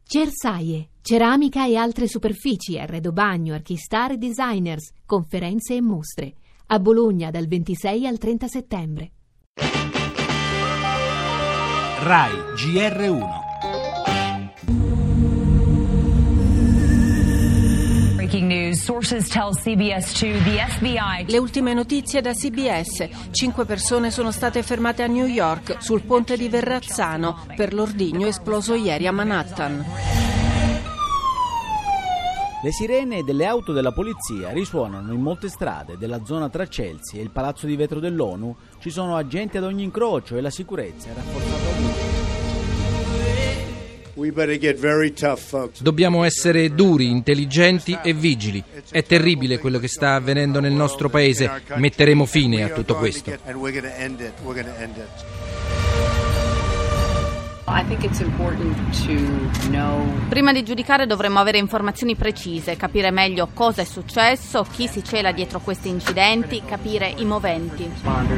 Cersaie, ceramica e altre superfici, arredo bagno, archistar e designers, conferenze e mostre. A Bologna dal 26 al 30 settembre. Rai GR1. Breaking news. Sources tell CBS2 the FBI. Le ultime notizie da CBS. 5 persone sono state fermate a New York sul ponte di Verrazzano per l'ordigno esploso ieri a Manhattan. Le sirene delle auto della polizia risuonano in molte strade della zona tra Chelsea e il Palazzo di Vetro dell'ONU. Ci sono agenti ad ogni incrocio e la sicurezza è rafforzata ovunque. Dobbiamo essere duri, intelligenti e vigili. È terribile quello che sta avvenendo nel nostro paese. Metteremo fine a tutto questo. Prima di giudicare dovremmo avere informazioni precise, capire meglio cosa è successo, chi si cela dietro questi incidenti, capire i moventi.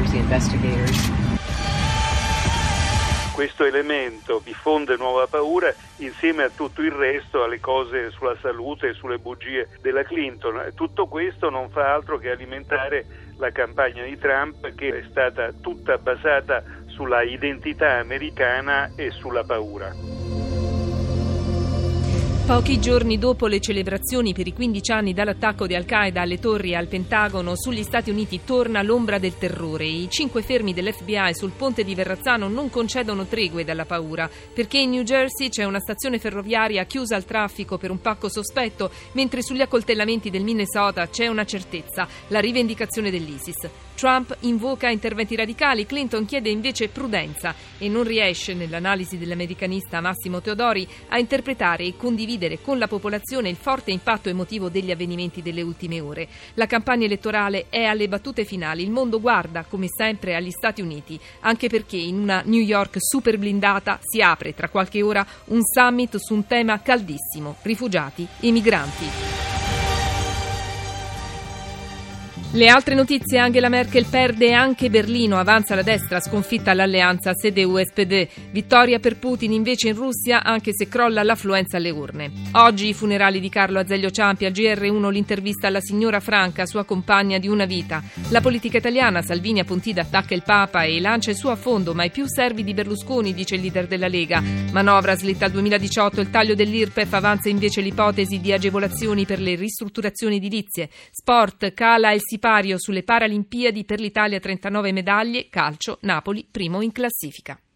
Questo elemento diffonde nuova paura insieme a tutto il resto, alle cose sulla salute e sulle bugie della Clinton. Tutto questo non fa altro che alimentare la campagna di Trump, che è stata tutta basata sulla identità americana e sulla paura. Pochi giorni dopo le celebrazioni per i 15 anni dall'attacco di Al-Qaeda alle torri e al Pentagono, sugli Stati Uniti torna l'ombra del terrore. I 5 fermi dell'FBI sul ponte di Verrazzano non concedono tregue dalla paura, perché in New Jersey c'è una stazione ferroviaria chiusa al traffico per un pacco sospetto, mentre sugli accoltellamenti del Minnesota c'è una certezza, la rivendicazione dell'ISIS. Trump invoca interventi radicali, Clinton chiede invece prudenza e non riesce, nell'analisi dell'americanista Massimo Teodori, a interpretare e condividere con la popolazione il forte impatto emotivo degli avvenimenti delle ultime ore. La campagna elettorale è alle battute finali, il mondo guarda come sempre agli Stati Uniti, anche perché in una New York super blindata si apre tra qualche ora un summit su un tema caldissimo: rifugiati e migranti. Le altre notizie: Angela Merkel perde anche Berlino, avanza la destra, sconfitta l'alleanza CDU-SPD. Vittoria per Putin invece in Russia, anche se crolla l'affluenza alle urne. Oggi i funerali di Carlo Azeglio Ciampi, al GR1 l'intervista alla signora Franca, sua compagna di una vita. La politica italiana, Salvini a Pontida attacca il Papa e lancia il suo affondo, mai più servi di Berlusconi, dice il leader della Lega. Manovra slitta al 2018, il taglio dell'IRPEF, avanza invece l'ipotesi di agevolazioni per le ristrutturazioni edilizie. Sport, cala il sipario sulle Paralimpiadi, per l'Italia 39 medaglie, calcio, Napoli primo in classifica.